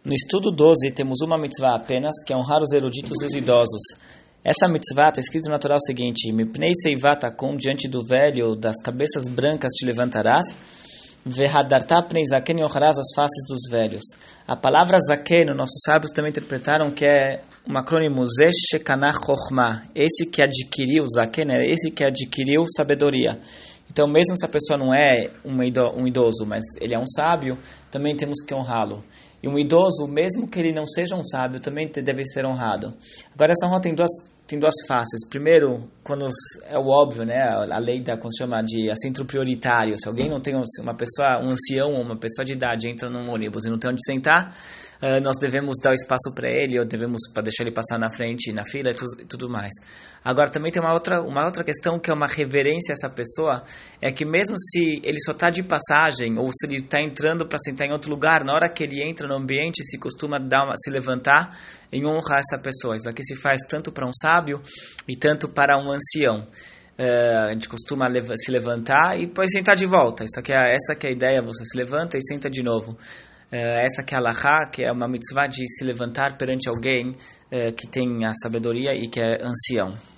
No estudo 12, temos uma mitzvah apenas, que é honrar os eruditos e os idosos. Essa mitzvah está escrito no Torá o seguinte: Mipnei seivatakon, diante do velho, das cabeças brancas te levantarás, vehadarta pnei zaken, e honrarás as faces dos velhos. A palavra zaken, nossos sábios também interpretaram que é um acrônimo zesh shekanah chokhmah, esse que adquiriu, zaken, é esse que adquiriu sabedoria. Então, mesmo se a pessoa não é um idoso, mas ele é um sábio, também temos que honrá-lo. E um idoso, mesmo que ele não seja um sábio, também deve ser honrado. Agora, essa honra tem duas faces. Primeiro, quando é o óbvio, né? A lei como se chama de assento prioritário. Se alguém não tem uma pessoa, um ancião ou uma pessoa de idade entra num ônibus e não tem onde sentar, nós devemos dar o espaço para ele, ou devemos para deixar ele passar na frente, na fila e tudo mais. Agora, também tem uma outra questão que é uma reverência a essa pessoa, é que mesmo se ele só está de passagem, ou se ele está entrando para sentar em outro lugar, na hora que ele entra no ambiente, se costuma se levantar em honra a essa pessoa. Isso aqui se faz tanto para um sábio e tanto para um ancião. A gente costuma se levantar e depois sentar de volta. Essa que é a ideia, você se levanta e senta de novo. Essa que é a halachá, que é uma mitzvah de se levantar perante alguém que tem a sabedoria e que é ancião.